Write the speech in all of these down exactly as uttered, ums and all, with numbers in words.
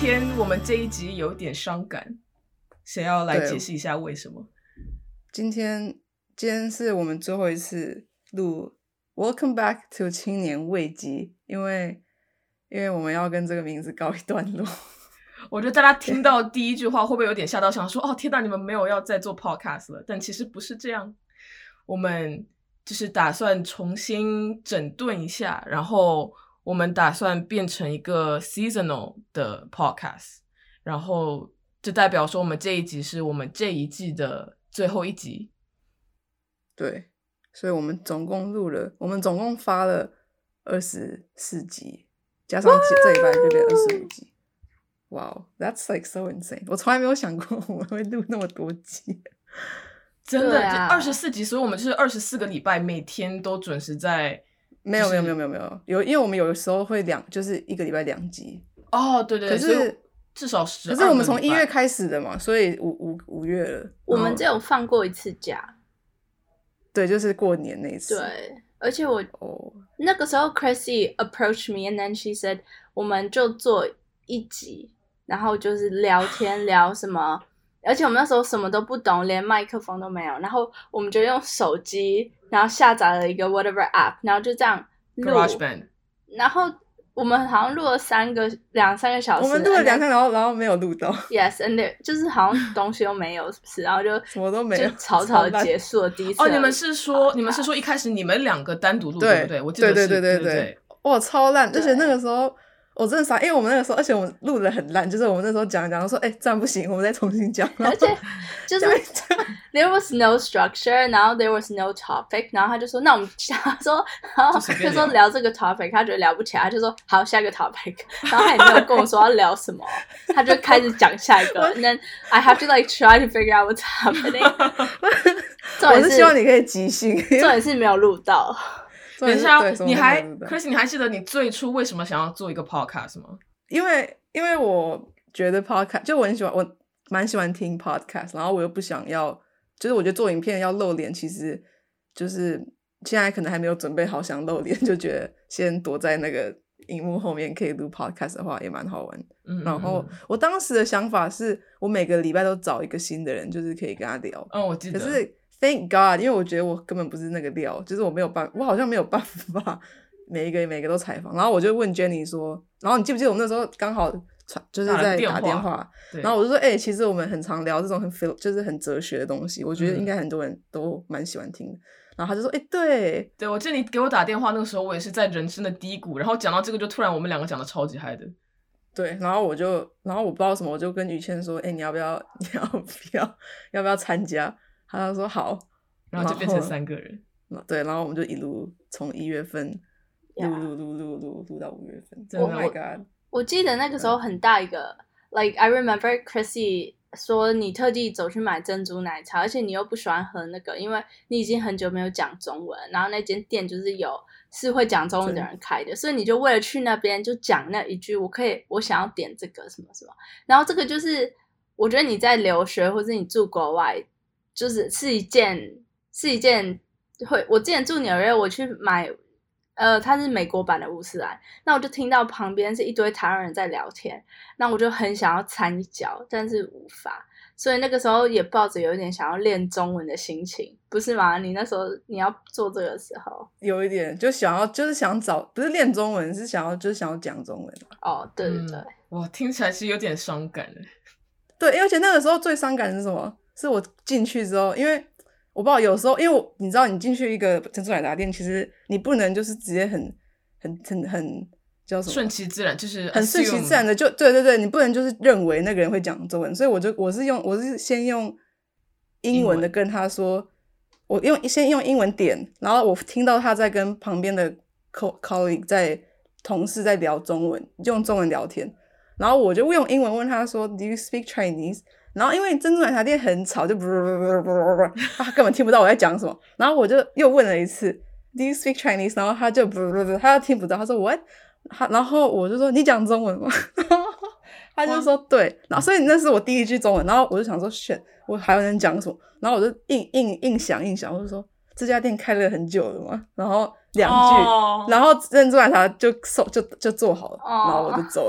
天我们这一集有点伤感，谁要来解释一下为什么？ 今天今天是我们最后一次录 Welcome back to 青年危机，因为因为我们要跟这个名字告一段落。 我觉得大家听到第一句话会不会有点吓到，想说哦天哪，你们没有要再做 podcast 了？但其实不是这样，我们就是打算重新整顿一下，然后我们打算变成一个 seasonal 的 podcast， 然后就代表说我们这一集是我们这一季的最后一集。 对，所以我们总共录了，我们总共发了二十四集，加上这礼拜就变二十五集。Wow, that's like so insane！ 我从来没有想过我们会录那么多集， 真的， 啊、 二十四集，所以我们就是二十四个礼拜，每天都准时在。 没有、就是、没有没有没有没有有，因为我们有的时候会两，就是一个礼拜两集。 哦，对对对， 可是至少十。 可是我们从一月开始的嘛，所以五五五月了。 我们只有放过一次假。 对，就是过年那一次。 对，而且我、 oh. 那个时候 Chrissy approached me and then she said 我们就做一集。然后就是聊天聊什么，而且我们那时候什么都不懂，连麦克风都没有，然后我们就用手机，然后下载了一个 whatever app， 然后就这样录 GarageBand， 然后我们好像录了三个两三个小时， 我们录了两天，然后然后没有录到 ，yes and there, 就是好像东西都没有，是不是？然后就什么都没有， 就草草的结束了第一次。 哦，你们是说你们是说一开始你们两个单独录，对不对？我记得是， 对对对对对对， 哇，超烂，而且那个时候。我真的傻，因为我们那个时候，而且我们录的很烂，就是我们那时候讲讲说，哎、欸，这样不行，我们再重新讲。 而且就是 there was no structure， 然后 there was no topic， 然后他就说，那我们他说，然后就说聊这个 topic， 他觉得聊不起来，他就说好下一个 topic， 然后他也没有跟我说要聊什么，他就开始讲下一个，and then I have to like try to figure out what's happening 。 我是希望你可以即兴， 重点是没有录到。 等一下，你还 Chris， 你还记得你最初为什么想要做一个 podcast 吗？ 因为因为我觉得 podcast 就我很喜欢，我蛮喜欢听 podcast， 然后我又不想要，就是我觉得做影片要露脸，其实就是现在可能还没有准备好想露脸，就觉得先躲在那个荧幕后面可以录 podcast 的话也蛮好玩。嗯嗯嗯，然后我当时的想法是我每个礼拜都找一个新的人，就是可以跟他聊。 嗯，我记得。 可是Thank God， 因为我觉得我根本不是那个料，就是我没有办法，我好像没有办法每一个每一个都采访。然后我就问 Jenny 说，然后你记不记得我们那时候刚好就是在打电话，然后我就说，哎、欸，其实我们很常聊这种很 就是很哲学的东西，我觉得应该很多人都蛮喜欢听的。嗯、然后他就说，哎、欸，对， 对，我记得你给我打电话那个时候，我也是在人生的低谷，然后讲到这个，就突然我们两个讲的超级嗨的。 对，然后我就，然后我不知道什么，我就跟于谦说，哎、欸，你要不要，你要不要，要不要参加？他就说好。 然后就变成三个人， 对，然后我们就一路从一月份录录录录录录到五月份。 真的 ，Oh my god！ 我, 我记得那个时候很大一个、嗯、，like I remember Chrissy 说你特地走去买珍珠奶茶，而且你又不喜欢喝那个，因为你已经很久没有讲中文，然后那间店就是有是会讲中文的人开的，所以你就为了去那边就讲那一句，我可以，我想要点这个什么什么，然后这个就是我觉得你在留学或者你住国外，就是是一件。是一件会，我之前住纽约，我去买，呃，它是美国版的乌斯兰，那我就听到旁边是一堆台湾人在聊天，那我就很想要掺一脚，但是无法，所以那个时候也抱着有一点想要练中文的心情，不是吗？你那时候你要做这个的时候， 有一点就想要，就是想找，不是练中文，是想要，就是想要讲中文。 哦，对对对， 嗯、哇，听起来是有点伤感的。 对，而且那个时候最伤感的是什么？是我进去之后，因为。我不知道，有时候因为我你知道，你进去一个珍珠奶茶店，其实你不能就是直接很很很很叫什么顺其自然，就是很顺其自然的就对对对，你不能就是认为那个人会讲中文，所以我就我是用我是先用英文的跟他说，我用先用英文点，然后我听到他在跟旁边的 colleague 在同事在聊中文，用中文聊天，然后我就用英文问他说 ，Do you speak Chinese？然后因为珍珠奶茶店很吵，就不不不不不，他根本听不到我在讲什么。然后我就又问了一次 ，Do you speak Chinese？ 然后他就不不不，他又听不到。他说 What？ 他然后我就说你讲中文吗？他就说对。然后所以那是我第一句中文。然后我就想说 shit， 我还能讲什么？然后我就硬硬硬想硬想，我就说这家店开了很久了嘛。然后两句， oh. 然后珍珠奶茶就就就做好了， oh. 然后我就走了。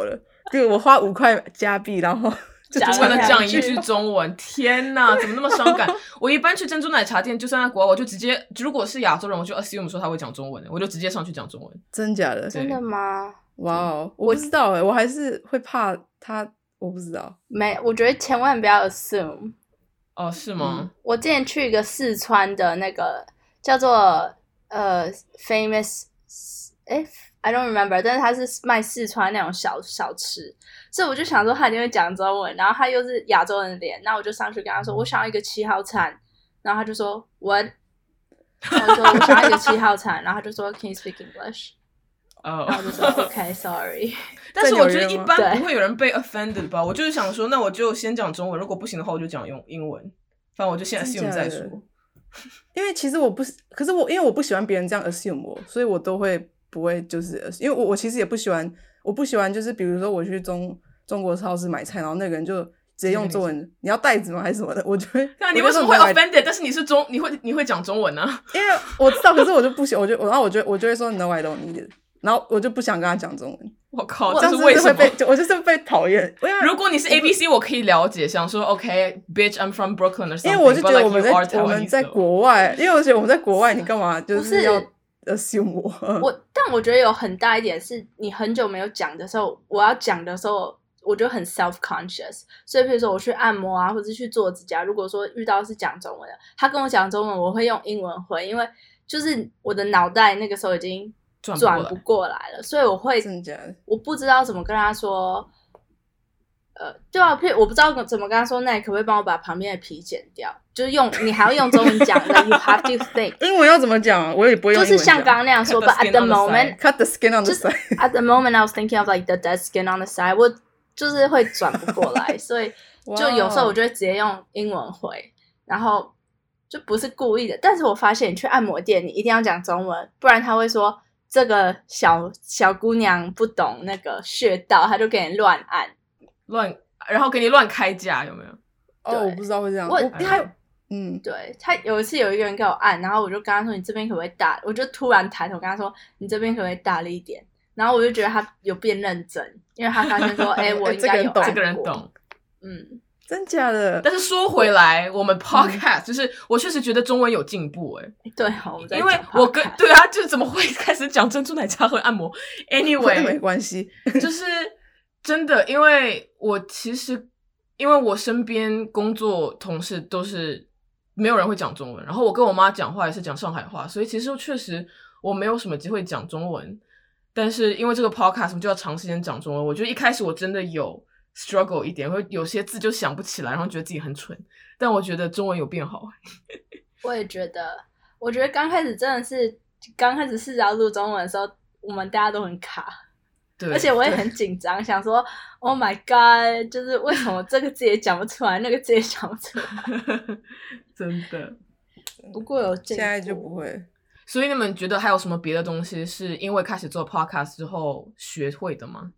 对，我花五块加币，然后就为了讲一句中文，天哪，怎么那么伤感？我一般去珍珠奶茶店，就算在国外，我就直接，如果是亚洲人，我就 assume 说他会讲中文，我就直接上去讲中文。 真假的？ 真的吗？ 哇哦，我不知道哎，我还是会怕他，我不知道。 没，我觉得千万不要 assume。 哦，是吗？ 嗯、我之前去一个四川的那个叫做呃 famous， 哎 I don't remember， 但是他是卖四川那种小小吃，所以我就想说他一定会讲中文，然后他又是亚洲人的脸，那我就上去跟他说我想要一个七号餐，然后他就说 what， 然后我说我想要一个七号餐，然后他就说 can you speak English？ 哦， 然后就说 OK sorry。 但是我觉得一般不会有人被 offended 吧？我就是想说，那我就先讲中文，如果不行的话，我就讲用英文。反正我就先 assume 再说。 因为其实我不，可是我因为我不喜欢别人这样 assume 我，所以我都会不会就是，因为我我其实也不喜欢，我不喜欢就是比如说我去中中国超市买菜，然后那个人就直接用中文，你要袋子吗还是什么的？我就会。 那你为什么会 offended？ 但是你是中，你会你会讲中文呢、啊？ 因为我知道，可是我就不喜，我就然后我就我就会说 No I don't need it。然后我就不想跟他讲中文， 我靠， 这是为什么？ 被我就是被讨厌。 如果你是 A B C， 我可以了解，想说 OK，bitch， I'm from Brooklyn or something。 因为我就觉得我们在 like 我们在国外，因为我觉得我们在国外，你干嘛就是要 assume 我？ 我但我觉得有很大一点是，你很久没有讲的时候，我要讲的时候，我就很 self conscious。所以比如说我去按摩啊，或者去做指甲，如果说遇到是讲中文的，他跟我讲中文，我会用英文回，因为就是我的脑袋那个时候已经。转不过来了，所以我会，我不知道怎么跟他说，呃，对啊，我不知道怎么跟他说，那你可不可以帮我把旁边的皮剪掉？就是用你还要用中文讲的 ，you have to think。 英文要怎么讲？我也不会用英文讲。 就是像刚刚那样说 ，but at the moment, cut the skin on the side. At the moment, I was thinking of like the dead skin on the side. 我就是会转不过来，所以就有时候我就会直接用英文回，然后就不是故意的。但是我发现你去按摩店，你一定要讲中文，不然他会说。这个小小姑娘不懂那个穴道，她就给你乱按， 乱，然后给你乱开价，有没有？ 哦，我不知道会这样。 我他嗯， 对他有一次有一个人给我按，然后我就跟他说：“你这边可不可以大？”我就突然抬头跟他说：“你这边可不可以大力一点？”然后我就觉得他有变认真，因为他发现说：“哎、欸，我应该有按过。” 这个人懂， 嗯。 真假的？ 但是说回来，我们 podcast、嗯、就是我确实觉得中文有进步哎、 欸。对啊，我们在因为我跟对啊，就是怎么会开始讲珍珠奶茶和按摩 ？Anyway， 没关系， 就是真的，因为我其实因为我身边工作同事都是没有人会讲中文，然后我跟我妈讲话也是讲上海话，所以其实确实我没有什么机会讲中文。但是因为这个 podcast 我们就要长时间讲中文，我觉得一开始我真的有。struggle 一点，会有些字就想不起来，然后觉得自己很蠢。但我觉得中文有变好。 我也觉得，我觉得刚开始真的是刚开始试着要录中文的时候，我们大家都很卡， 对， 而且我也很紧张，想说 ，Oh my God， 就是为什么这个字也讲不出来，那个字也讲不出来， 真的。 不过有现在就不会。 所以你们觉得还有什么别的东西是因为开始做 podcast 之后学会的吗？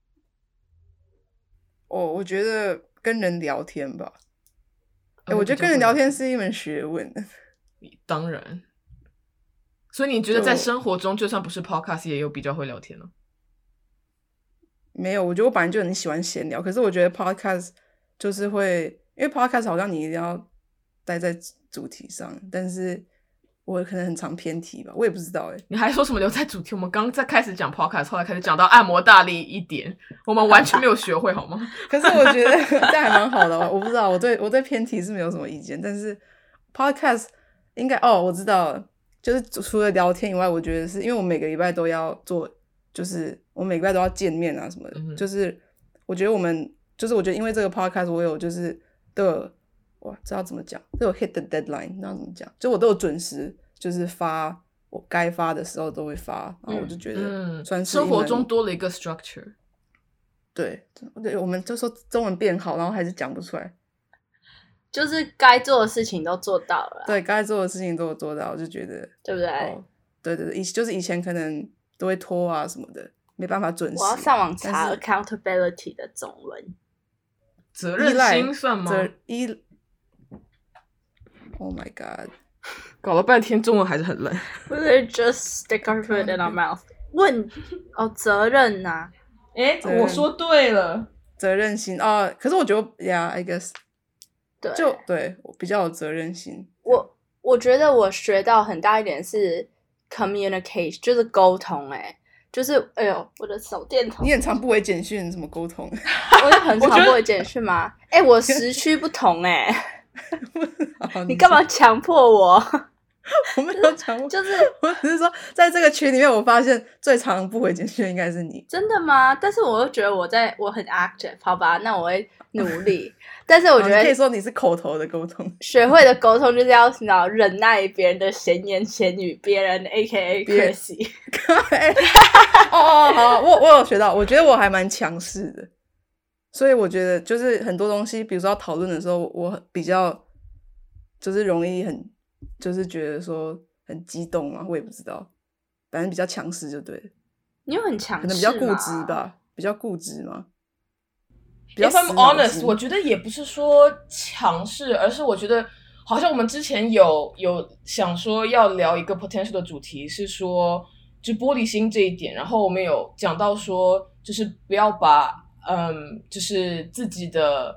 哦，我觉得跟人聊天吧。欸、我觉得跟人聊天是一门学问。 当然。所以你觉得在生活中，就算不是 podcast， 也有比较会聊天呢？ 没有，我觉得我本来就很喜欢闲聊，可是我觉得 podcast 就是会，因为 podcast 好像你一定要待在主题上，但是。我可能很常偏题吧，我也不知道哎、欸。 你还说什么留在主题？我们刚在开始讲 podcast， 后来开始讲到按摩大力一点，我们完全没有学会好吗？ 可是我觉得这还蛮好的，我不知道，我对我对偏题是没有什么意见，但是 podcast 应该哦，我知道了，就是除了聊天以外，我觉得是因为我每个礼拜都要做，就是我每个礼拜都要见面啊什么的，嗯、就是我觉得我们就是我觉得因为这个 podcast 我有就是都有。哇，这要怎么讲？都有 hit the deadline， 那怎么讲？就我都有准时，就是发我该发的时候都会发，然后我就觉得算是、 嗯、生活中多了一个 structure。 对，对，我们就说中文变好，然后还是讲不出来， 就是该做的事情都做到了。 对，该做的事情都有做到，我就觉得对不对？ 哦、对对对，以就是以前可能都会拖啊什么的，没办法准时。 我要上网查 accountability 的中文， 责任心算吗？ 责依。Oh my god！ 搞了半天中文还是很烂。 不是 just stick our foot in our mouth。问哦，责任呐、啊， 哎，我说对了， 责任心啊。可是我觉得 ，Yeah, I guess， 对， 就对我比较有责任心。 我我觉得我学到很大一点是 communication， 就是沟通、欸。哎，就是哎呦，我的手电筒。 你很常不回简讯，怎么沟通？ 我也很常不回简讯吗？哎、欸，我时区不同哎、欸。你干嘛强迫我？ 我没有强迫， 就是我只是说，在这个群里面，我发现最常不回简讯应该是你。 真的吗？但是我又觉得我在我很 active， 好吧，那我会努力。但是我觉得、 哦、你可以说你是口头的沟通， 学会的沟通就是要你忍耐别人的闲言闲语，别人 A K A Chrissy。 哦哦，好，我我有学到，我觉得我还蛮强势的，所以我觉得就是很多东西，比如说要讨论的时候，我比较就是容易很就是觉得说很激动嘛，我也不知道，反正比较强势就对了。 你有很强势吗？ 可能比较固执吧，比较固执嘛。 If I'm honest， 我觉得也不是说强势，而是我觉得好像我们之前有有想说要聊一个 potential 的主题，是说就玻璃心这一点，然后我们有讲到说，就是不要把嗯，就是自己的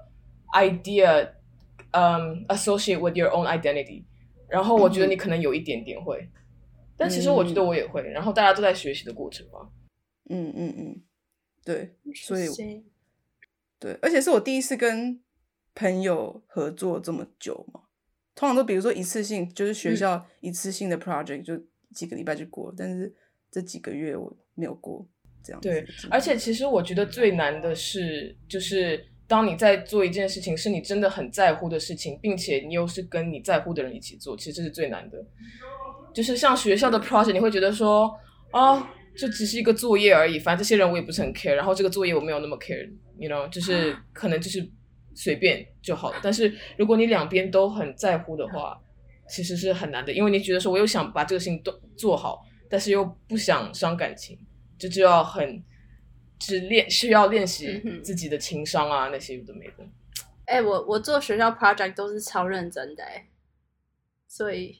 idea 嗯 associate with your own identity， 然后我觉得你可能有一点点会，嗯、但其实我觉得我也会，然后大家都在学习的过程嘛。 嗯嗯嗯，对，所以对，而且是我第一次跟朋友合作这么久嘛，通常都比如说一次性，就是学校一次性的 project 就几个礼拜就过了，但是这几个月我没有过这样子。 对，而且其实我觉得最难的是，就是当你在做一件事情是你真的很在乎的事情，并且你又是跟你在乎的人一起做，其实这是最难的。就是像学校的 project， 你会觉得说啊、哦，就只是一个作业而已，反正这些人我也不是很 care， 然后这个作业我没有那么 care，you know， 就是可能就是随便就好了。但是如果你两边都很在乎的话，其实是很难的，因为你觉得说我又想把这个事情都做好，但是又不想伤感情，就就要很只练需要练习自己的情商啊，那些有的没的。 哎、欸，我我做学校 project 都是超认真的哎、欸，所以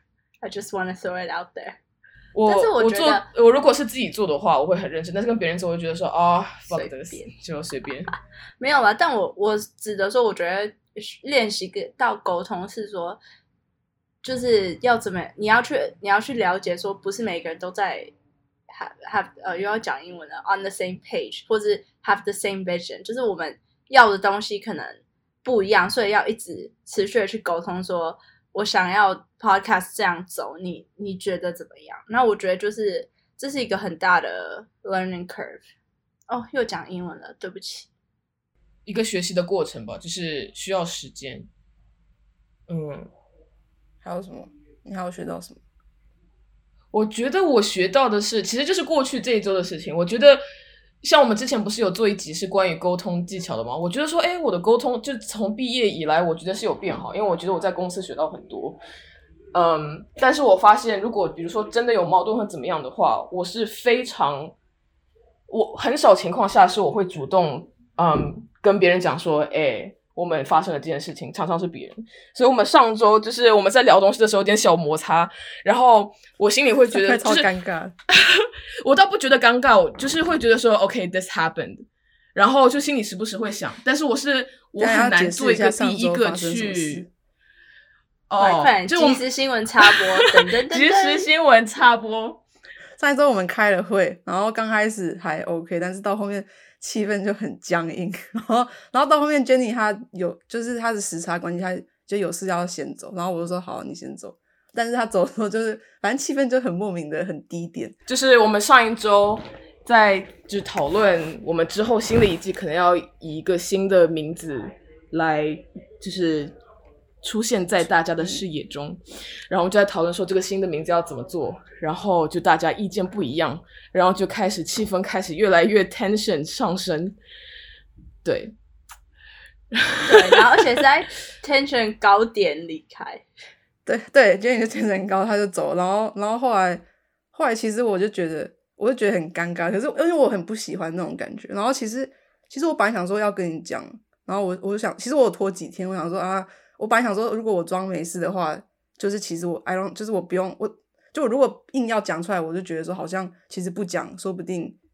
I just wanna throw it out there。 我但是我觉得我做我如果是自己做的话，我会很认真，但是跟别人做，我会觉得说啊、哦、，fuck this， 就随便。 没有啦，但我我指的说，我觉得练习到沟通是说，就是要怎么，你要去你要去了解说，不是每个人都在 have have 呃又要讲英文了 on the same page， 或是 have the same vision， 就是我们要的东西可能不一样，所以要一直持续的去沟通说。我想要 podcast 这样走，你你觉得怎么样？那我觉得就是这是一个很大的 learning curve。哦，又讲英文了，对不起。 一个学习的过程吧，就是需要时间。嗯， 还有什么？你还有学到什么？ 我觉得我学到的是，其实就是过去这一周的事情。我觉得。像我们之前不是有做一集是关于沟通技巧的吗？我觉得说，哎，我的沟通就从毕业以来，我觉得是有变好，因为我觉得我在公司学到很多。嗯，但是我发现，如果比如说真的有矛盾或怎么样的话，我是非常，我很少情况下是我会主动，嗯，跟别人讲说，哎，我们发生了这件事情，常常是别人。所以我们上周就是我们在聊东西的时候有点小摩擦，然后我心里会觉得超尴尬。 我倒不觉得尴尬，我就是会觉得说 OK this happened， 然后就心里时不时会想，但是我是我很难做一个第一个去哦，快点即时新闻插播，等等等， 即时新闻插播。 上一周我们开了会，然后刚开始还 OK， 但是到后面气氛就很僵硬，然后然后到后面 Jenny 她有就是她的时差关系，她就有事要先走，然后我就说好，你先走。但是他走的时候就是反正气氛就很莫名的很低点， 就是我们上一周在就讨论我们之后新的一季可能要以一个新的名字来就是出现在大家的视野中，然后我们就在讨论说这个新的名字要怎么做，然后就大家意见不一样，然后就开始气氛开始越来越 tension 上升，对对，然后而且是在 tension 高点离开。 对对，今天就天很高，他就走，然后然后后来后来其实我就觉得我就觉得很尴尬，可是因为我很不喜欢那种感觉，然后其实其实我本来想说要跟你讲，然后我我就想其实我有拖几天，我想说啊，我本来想说如果我装没事的话，就是其实我 I don't 就是我不用我就我如果硬要讲出来，我就觉得说好像其实不讲说不定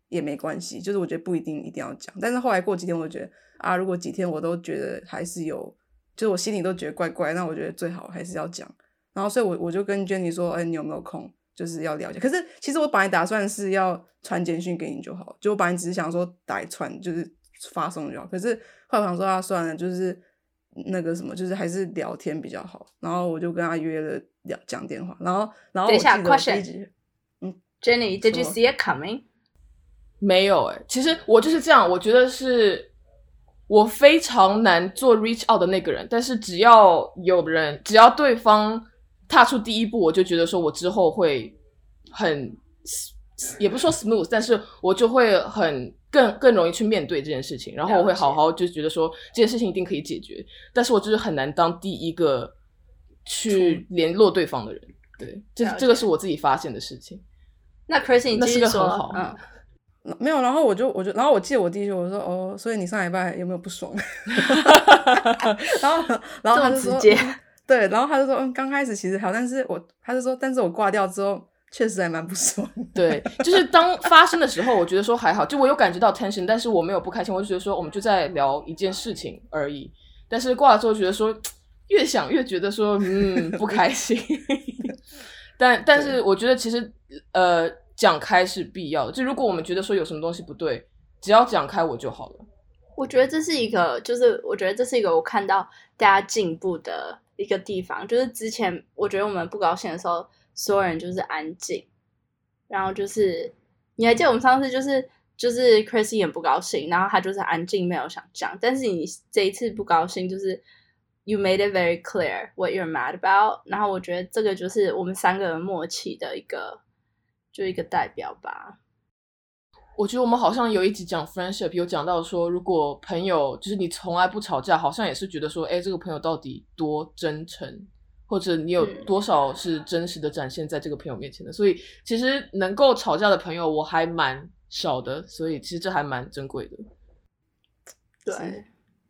也没关系，就是我觉得不一定一定要讲。但是后来过几天，我就觉得啊，如果几天我都觉得还是有，就是我心里都觉得怪怪，那我觉得最好还是要讲。然后所以我我就跟 Jenny 说，哎，你有没有空？就是要了解。可是其实我本来打算是要传简讯给你就好，就我本来只是想说打一串就是发送就好。可是后来我想说啊，算了，就是那个什么，就是还是聊天比较好。然后我就跟他约了聊讲电话。然后然后我记得我第一集， 嗯 ，Jenny, did you see it coming? 没有诶、欸，其实我就是这样，我觉得是我非常难做 reach out 的那个人，但是只要有人，只要对方踏出第一步，我就觉得说我之后会很，也不是说 smooth， 但是我就会很更更容易去面对这件事情，然后我会好好就觉得说这件事情一定可以解决，但是我就是很难当第一个去联络对方的人，对，这这个是我自己发现的事情。 那 Chrissy 你继续说， 那是个很好， 嗯。 没有，然后我就我就然后我记得我弟就我说哦，所以你上礼拜有没有不爽？然后然后他就说， 这么直接对，然后他就说嗯，刚开始其实好，但是我他就说，但是我挂掉之后确实还蛮不爽。 对，就是当发生的时候，我觉得说还好，就我有感觉到 tension， 但是我没有不开心，我就觉得说我们就在聊一件事情而已。但是挂了之后觉得说越想越觉得说嗯不开心，但但是我觉得其实呃。讲开是必要的，就如果我们觉得说有什么东西不对，只要讲开我就好了。 我觉得这是一个，就是我觉得这是一个我看到大家进步的一个地方。就是之前我觉得我们不高兴的时候，所有人就是安静，然后就是你还记得我们上次就是就是 Chrissy 也不高兴，然后他就是安静没有想讲，但是你这一次不高兴就是 you made it very clear what you're mad about， 然后我觉得这个就是我们三个人默契的一个。就一个代表吧。 我觉得我们好像有一集讲 friendship， 有讲到说，如果朋友就是你从来不吵架，好像也是觉得说，哎，这个朋友到底多真诚，或者你有多少是真实的展现在这个朋友面前的。嗯、所以其实能够吵架的朋友我还蛮少的，所以其实这还蛮珍贵的。 对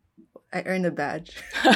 ，I earned a badge 。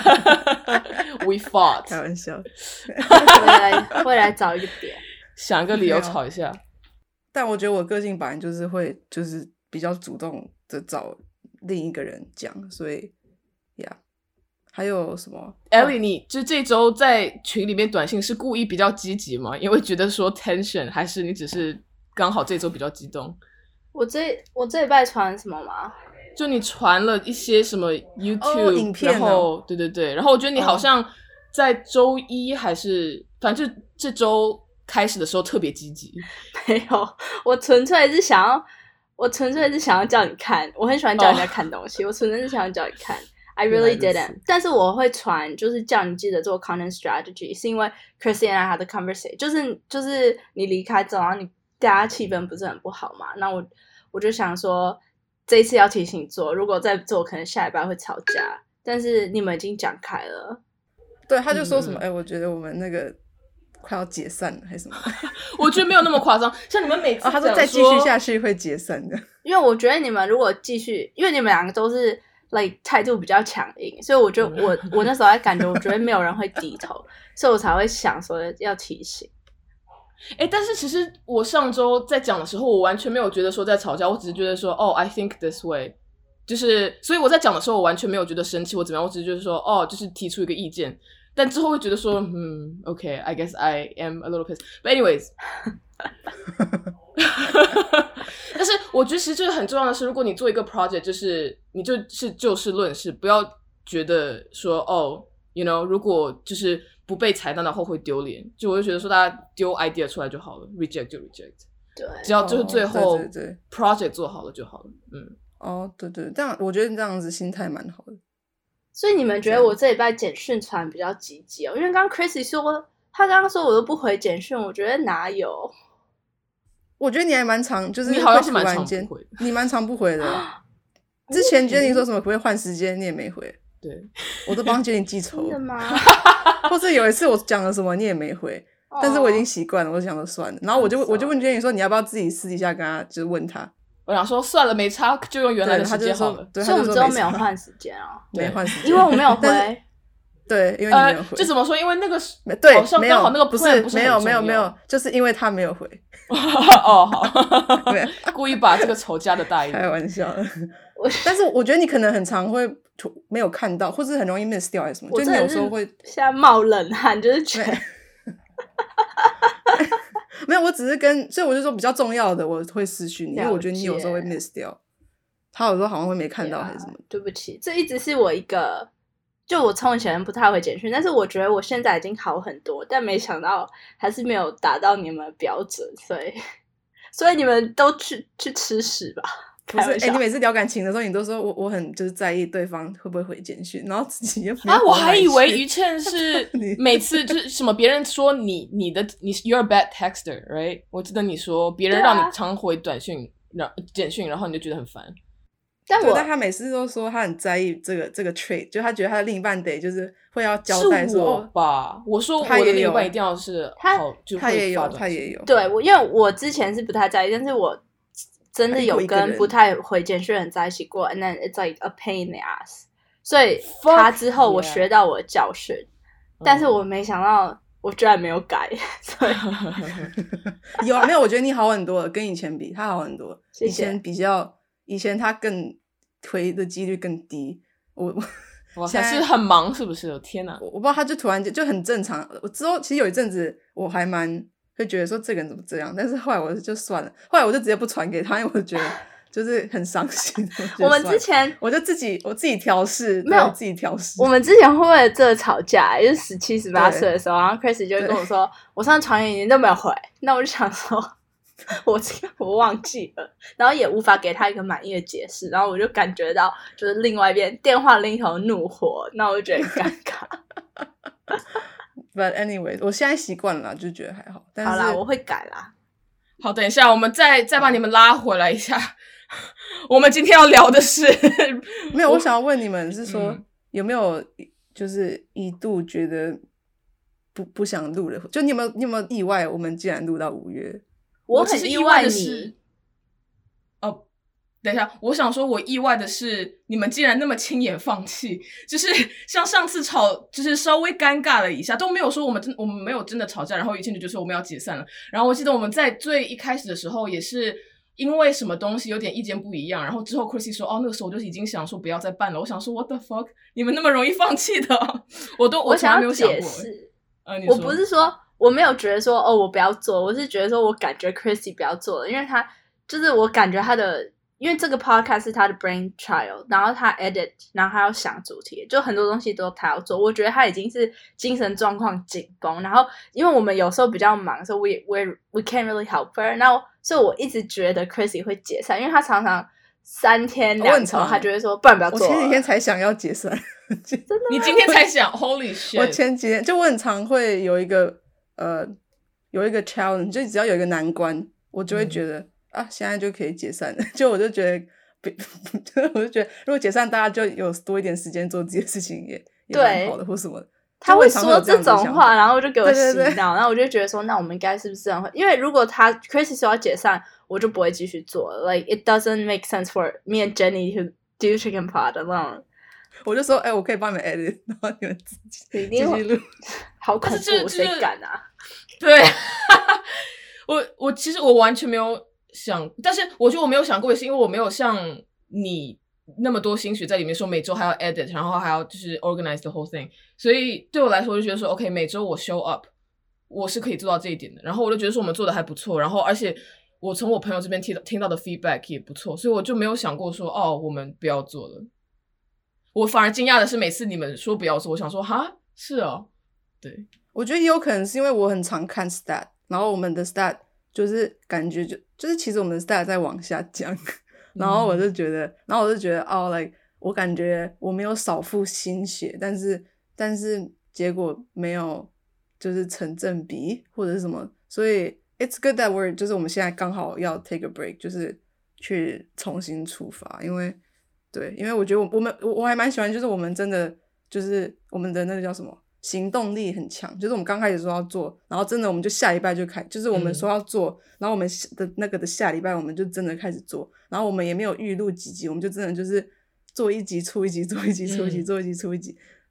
We fought。 开玩笑。 会来会来找一个点。 想一个理由吵一下， 但我觉得我个性本来就是会，就是比较主动的找另一个人讲，所以呀， yeah. 还有什么 ？Ellie， 你就这周在群里面短信是故意比较积极吗？因为觉得说 tension， 还是你只是刚好这周比较激动？ 我这我这礼拜传什么吗？ 就你传了一些什么 YouTube、 哦、影片、 然后对对对，然后我觉得你好像在周一还是、哦、反正就这周。开始的时候特别积极， 没有，我纯粹是想要，我纯粹是想要叫你看，我很喜欢叫人家看东西， oh. 我纯粹是想要叫你看 ，I really didn't， 但是我会传，就是叫你记得做 content strategy， 是因为 Chrissy and I had the conversation， 就是就是你离开之后，然后你大家气氛不是很不好嘛，那我我就想说，这一次要提醒你做，如果再做，可能下礼拜会吵架，但是你们已经讲开了， 对，他就说什么，哎、嗯欸，我觉得我们那个。快要解散了还是什么？ 我觉得没有那么夸张。像你们每次、 哦、他说再继续下去会解散的， 因为我觉得你们如果继续，因为你们两个都是 like 态度比较强硬，所以我就我我那时候还感觉，我觉得没有人会低头，所以我才会想说要提醒。 哎，但是其实我上周在讲的时候，我完全没有觉得说在吵架，我只是觉得说，哦 ，I think this way， 就是，所以我在讲的时候，我完全没有觉得生气或怎么样，我只是就是说，哦，就是提出一个意见。但之后会觉得说，嗯 ，OK， I guess I am a little pissed. But anyways， 但是我觉得其实这个很重要的是，如果你做一个 project， 就是你就是就事论事，不要觉得说，哦 ，you know， 如果就是不被采纳的话会丢脸。就我就觉得说，大家丢 idea 出来就好了 ，reject 就 reject， 对， 只要就是最后 project 做好了就好了。嗯， 哦，对对，这样我觉得这样子心态蛮好的。 所以你们觉得我这礼拜简讯传比较积极哦？因为刚刚 Chrissy 说他刚刚说我都不回简讯，我觉得哪有？ 我觉得你还蛮常，就是你好像是蛮常不回的， 你蛮常不回的。之前 Jenny 说什么可不可以换时间，你也没回。 对， 我都帮 Jenny 记仇。 真的吗？ 或是有一次我讲了什么，你也没回，但是我已经习惯了，我就想说算了。然后我就我就问 Jenny 说，你要不要自己私底下跟他就是问他？ 我想说算了，没差，就用原来的时间好了。 所以我们之后没有换时间啊， 没换时间， 因为我没有回。 对，因为你没有回。 呃，就怎么说？因为那个对， 好像刚好那个 plan 不是没有很重要没有没有，就是因为他没有回。 哦，好，故意把这个仇加的大一点。 开玩笑的。但是我觉得你可能很常会没有看到，或是很容易 miss 掉还是什么，就你有时候会现在冒冷汗，就是觉得没有，我只是跟，所以我就说比较重要的我会私讯你，因为我觉得你有时候会 miss 掉，他有时候好像会没看到还是什么。 对不起，这一直是我一个，就我从前不太会简讯，但是我觉得我现在已经好很多，但没想到还是没有达到你们的标准，所以所以你们都去去吃屎吧。 不是，哎、欸，你每次聊感情的时候，你都说我我很就是在意对方会不会回简讯，然后自己又啊，我还以为于倩是每次就是什么别人说你你的你 you're a bad texter right， 我记得你说别人让你常回短讯、然简讯，然后你就觉得很烦。 但我但他每次都说他很在意这个这个 trait， 就他觉得他的另一半得就是会要交代说， 是我吧？我说我的另一半一定要是好，就他也有，他也有。 对，我因为我之前是不太在意，但是我真的有跟不太回简讯的人在一起过 ，and then it's like a pain in the ass。所以他之后我学到我的教训， yeah. 但是我没想到我居然没有改，所以有啊，没有？我觉得你好很多了，跟以前比，他好很多。 谢谢。 以前比较，以前他更回的几率更低。我我还是很忙，是不是？天哪！ 我我不知道，他就突然间就很正常。我之后其实有一阵子我还蛮会觉得说这个人怎么这样，但是后来我就算了，后来我就直接不传给他，因为我觉得就是很伤心。 我, 我们之前我就自己我自己调试， 没有自己调试。 我们之前会为了这个吵架，就是十七十八岁的时候，然后 Chris 就会跟我说，我上次传给你都没有回，那我就想说。我我忘记了，然后也无法给他一个满意的解释，然后我就感觉到就是另外一边电话另一头怒火，那我就觉得很尴尬。 But anyway， 我现在习惯了，就觉得还好。但是好啦，我会改啦。 好，等一下，我们再再把你们拉回来一下。我们今天要聊的是， 没有，我想要问你们是说、 嗯、有没有就是一度觉得不不想录了？就你有没有你有没有意外？我们竟然录到五月。 我很意外的是，哦，等一下，我想说，我意外的是，你们竟然那么轻言放弃，就是像上次吵，就是稍微尴尬了一下，都没有说我们真我们没有真的吵架，然后于倩就说我们要解散了。然后我记得我们在最一开始的时候，也是因为什么东西有点意见不一样，然后之后 Chrissy 说，哦，那个时候我就已经想说不要再办了。我想说 ，What the fuck， 你们那么容易放弃的，我都我从来没有想过。 呃，我不是说。我没有觉得说哦，我不要做，我是觉得说我感觉 Chrissy 不要做了，因为他就是我感觉他的，因为这个 podcast 是他的 brain trial， 然后他 edit， 然后他要想主题，就很多东西都他要做。我觉得他已经是精神状况紧绷，然后因为我们有时候比较忙，所以 we we we can't really help her。然后所以我一直觉得 Chrissy 会解散，因为他常常三天两头，他就会说不然不要做了。 我前几天才想要解散， 真的吗？ 你今天才想 ？Holy shit！ 我前几天就我很常会有一个。呃，有一个 challenge， 就只要有一个难关，我就会觉得、嗯、啊，现在就可以解散了。就我就觉得，我就觉得，如果解散，大家就有多一点时间做自己的事情也，也也蛮好的，或什么的。 他会说这种话，然后就给我洗脑， 对对对， 然后我就觉得说，那我们应该是不是这样会？因为如果他 Chrissy 说要解散，我就不会继续做了。Like it doesn't make sense for me and Jenny to do chicken pot alone。 我就说，哎、欸，我可以帮你们 edit， 然后你们自己继续录。 好恐怖，谁敢啊？ 对，我我其实我完全没有想，但是我觉得我没有想过，也是因为我没有像你那么多心血在里面，说每周还要 edit， 然后还要就是 organize the whole thing， 所以对我来说，我就觉得说 ，OK， 每周我 show up， 我是可以做到这一点的。然后我就觉得说我们做的还不错，然后而且我从我朋友这边听到听到的 feedback 也不错，所以我就没有想过说，哦，我们不要做了。我反而惊讶的是，每次你们说不要做，我想说，哈，是哦，对。 我觉得也有可能是因为我很常看 stat， 然后我们的 stat 就是感觉就就是其实我们的 stat 在往下降，然后我就觉得，嗯、然后我就觉得哦 ，like 我感觉我没有少付心血，但是但是结果没有就是成正比或者是什么，所以 it's good that we're 就是我们现在刚好要 take a break， 就是去重新出发，因为对，因为我觉得我我们我我还蛮喜欢，就是我们真的就是我们的那个叫什么？行动力很强，就是我们刚开始说要做，然后真的我们就下礼拜就开，就是我们说要做，嗯、然后我们的那个的下礼拜我们就真的开始做，然后我们也没有预录几集，我们就真的就是做一集出一集，做一集出一集，嗯、做一集出一集，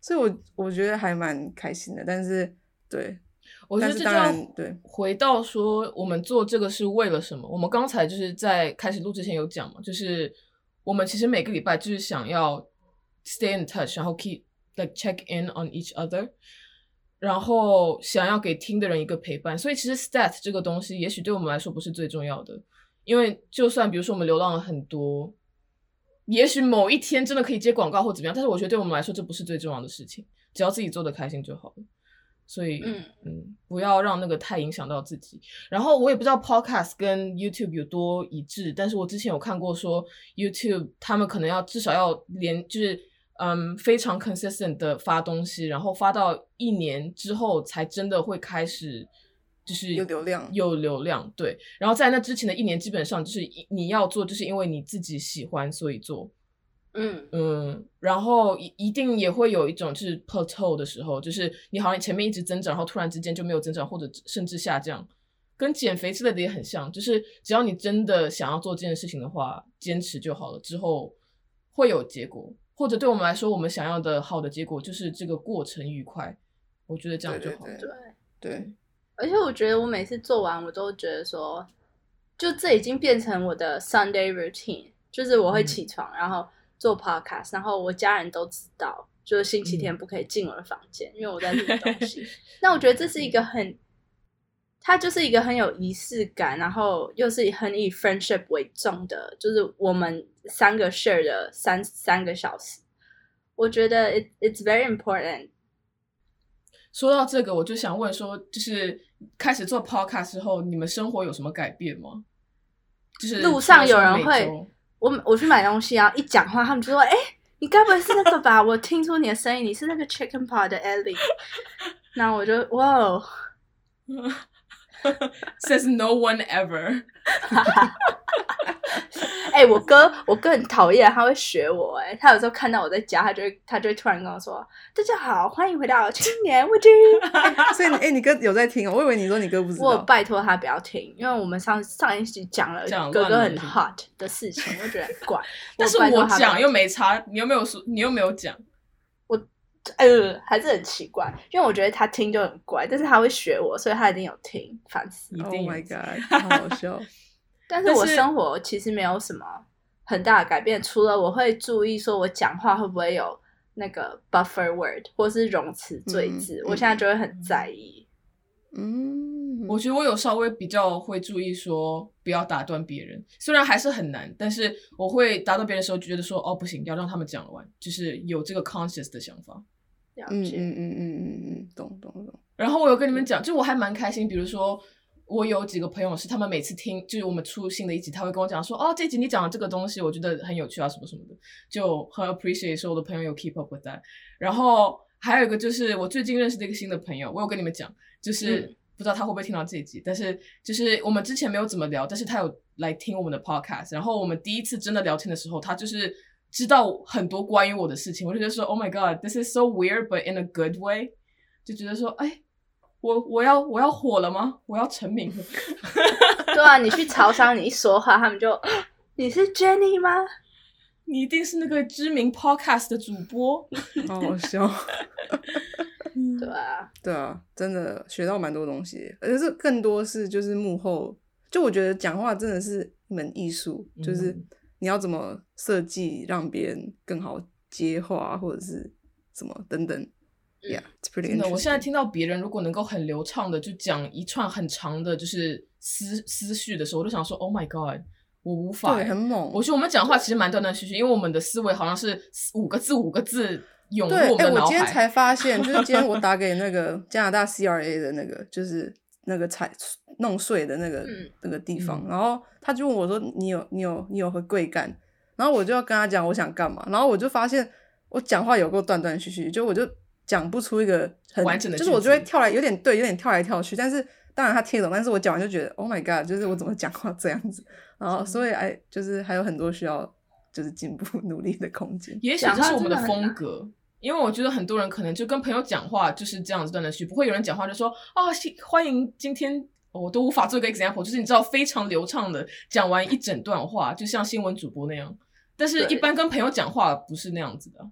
所以我我觉得还蛮开心的。但是对， 我觉得这就要回到说我们做这个是为了什么。我们刚才就是在开始录之前有讲嘛，就是我们其实每个礼拜就是想要 stay in touch， 然后 keep like check in on each other， 然后想要给听的人一个陪伴。所以其实 stat 这个东西也许对我们来说不是最重要的，因为就算比如说我们流浪了很多，也许某一天真的可以接广告或怎么样，但是我觉得对我们来说这不是最重要的事情，只要自己做得开心就好了。所以嗯嗯，不要让那个太影响到自己。然后我也不知道 podcast 跟 YouTube 有多一致，但是我之前有看过说 YouTube 他们可能要至少要连就是嗯非常 consistent 的发东西，然后发到一年之后才真的会开始就是有流量有流量对。然后在那之前的一年基本上就是你要做就是因为你自己喜欢所以做。 嗯嗯，然后一定也会有一种就是 plateau 的时候，就是你好像前面一直增长，然后突然之间就没有增长，或者甚至下降，跟减肥之类的也很像，就是只要你真的想要做这件事情的话，坚持就好了，之后会有结果，或者对我们来说，我们想要的好的结果就是这个过程愉快，我觉得这样就好。 对对对, 对， 而且我觉得我每次做完，我都觉得说，就这已经变成我的 Sunday routine， 就是我会起床，嗯、然后做 podcast， 然后我家人都知道，就是星期天不可以进我的房间，嗯、因为我在录东西。那我觉得这是一个很，它就是一个很有仪式感，然后又是很以 friendship 为重的，就是我们三个 share 的三三个小时。我觉得 it it's very important。 说到这个，我就想问说，就是开始做 podcast 之后，你们生活有什么改变吗？就是路上有人会。我我去买东西啊，一讲话他们就说：“哎、欸，你该不会是那个吧？我听出你的声音，你是那个 Chicken Pot 的 Ellie。”然后我就哇 ，says no one ever 。 哎、欸，我哥，我哥很讨厌，他会学我、欸。哎，他有时候看到我在家，他就会，他就会突然跟我说：“大家好，欢迎回到青年woody。欸” 所以，哎、欸，你哥有在听哦？我以为你说你哥不知道。 我有拜托他不要听，因为我们上上一集讲了哥哥很 hot 的事情，我觉得很怪。 但是我讲又没差，你又没有说，你又没有讲。 我呃还是很奇怪，因为我觉得他听就很怪，但是他会学我，所以他一定有听，烦死。 一定 ！Oh my god， 好好笑。 但是我生活其实没有什么很大的改变，除了我会注意说我讲话会不会有那个 buffer word 或是容词赘字、嗯、我现在就会很在意。 嗯， 我觉得我有稍微比较会注意说不要打断别人，虽然还是很难，但是我会打断别人的时候就觉得说哦不行，要让他们讲完，就是有这个 conscious 的想法。 了解， 嗯嗯嗯嗯嗯嗯，懂懂懂。 然后我有跟你们讲，就我还蛮开心，比如说我有几个朋友是他们每次听就是我们出新的一集，他会跟我讲说哦这集你讲的这个东西我觉得很有趣啊什么什么的，就很 appreciate 说我的朋友有 keep up with that。 然后还有一个就是我最近认识的一个新的朋友，我有跟你们讲，就是、嗯、不知道他会不会听到这一集，但是就是我们之前没有怎么聊，但是他有来听我们的 podcast， 然后我们第一次真的聊天的时候，他就是知道很多关于我的事情，我就觉得说 oh my god this is so weird but in a good way， 就觉得说哎我我要我要火了吗？我要成名了？ 对啊，你去潮商，你一说话，他们就你是 Jenny 吗？ 你一定是那个知名 podcast 的主播， 好好笑。 对啊， 对啊，真的学到蛮多东西，而且是更多是就是幕后，就我觉得讲话真的是一门艺术，嗯、就是你要怎么设计让别人更好接话，或者是什么等等。Yeah, it's pretty interesting. 真的，我现在听到别人如果能够很流畅的就讲一串很长的，就是思思绪的时候，我就想说 ，Oh my god， 我无法。 对，很猛。 我觉得我们讲话其实蛮断断续续，因为我们的思维好像是五个字五个字涌入我们的脑海。 对，哎，我今天才发现，就是今天我打给那个加拿大 C R A 的那个，就是那个采弄税的那个、嗯、那个地方，然后他就问我说：“你有你有你有回贵干？”然后我就要跟他讲我想干嘛，然后我就发现我讲话有够断断续续，就我就。讲不出一个很完整的句子， 就是我就会跳来，有点对，有点跳来跳去。但是当然他听得懂，但是我讲完就觉得 ，Oh my god， 就是我怎么讲话这样子。然后所以哎，就是还有很多需要就是进步努力的空间。 也许这是我们的风格，因为我觉得很多人可能就跟朋友讲话就是这样子断断续续，不会有人讲话就说啊、哦，欢迎今天。我都无法做一个 example， 就是你知道非常流畅的讲完一整段话，就像新闻主播那样。但是一般跟朋友讲话不是那样子的。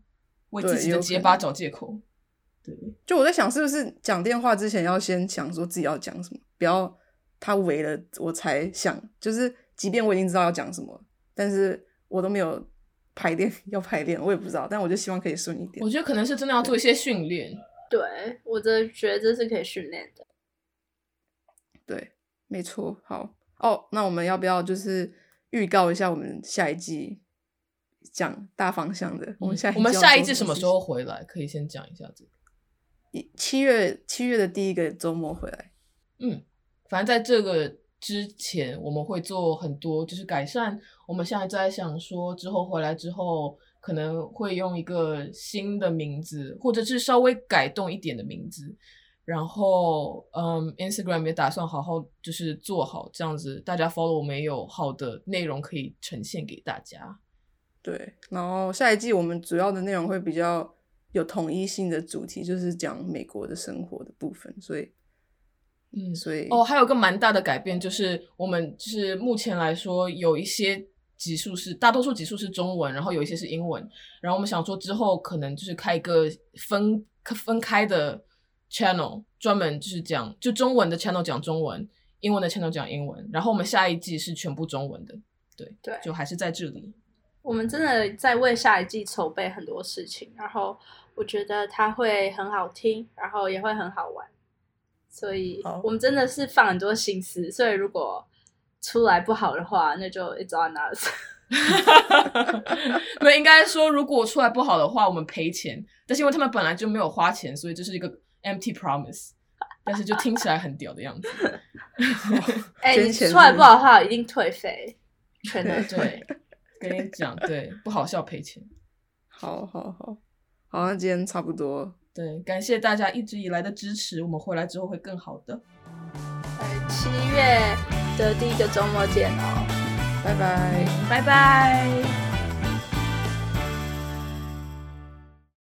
为自己的结巴找借口。对， 就我在想是不是讲电话之前要先想说自己要讲什么，不要他围了我才想，就是即便我已经知道要讲什么，但是我都没有排练要排练，我也不知道，但我就希望可以顺一点。 我觉得可能是真的要做一些训练。 对，我真的觉得这是可以训练的。 对，没错。好哦，那我们要不要就是预告一下我们下一季讲大方向的？我们下一季我们下一季什么时候回来？可以先讲一下这个。 七月七月的第一个周末回来。 嗯，反正在这个之前我们会做很多就是改善。我们现在在想说之后回来之后可能会用一个新的名字，或者是稍微改动一点的名字。然后嗯 Instagram 也打算好好就是做好，这样子大家 follow 我们也有好的内容可以呈现给大家。 对，然后下一季我们主要的内容会比较有统一性的主题，就是讲美国的生活的部分，所以嗯， 所以哦，还有个蛮大的改变，就是我们就是目前来说有一些集数是大多数集数是中文，然后有一些是英文，然后我们想说之后可能就是开一个分分开的 channel， 专门就是讲就中文的 channel 讲中文，英文的 channel 讲英文，然后我们下一季是全部中文的。对对， 就还是在这里。 我们真的在为下一季筹备很多事情，然后我觉得它会很好听，然后也会很好玩，所以我们真的是放很多心思，所以如果出来不好的话，那就 it's on us。 对，应该说如果出来不好的话我们赔钱，但是因为他们本来就没有花钱，所以这是一个 empty promise， 但是就听起来很屌的样子。 哎、欸，你出来不好的话一定退费，全的对，跟你讲，对，不好笑赔钱。 好好好好，那今天差不多。 对，感谢大家一直以来的支持，我们回来之后会更好的。 七月的第一个周末见哦， 拜拜， 拜拜。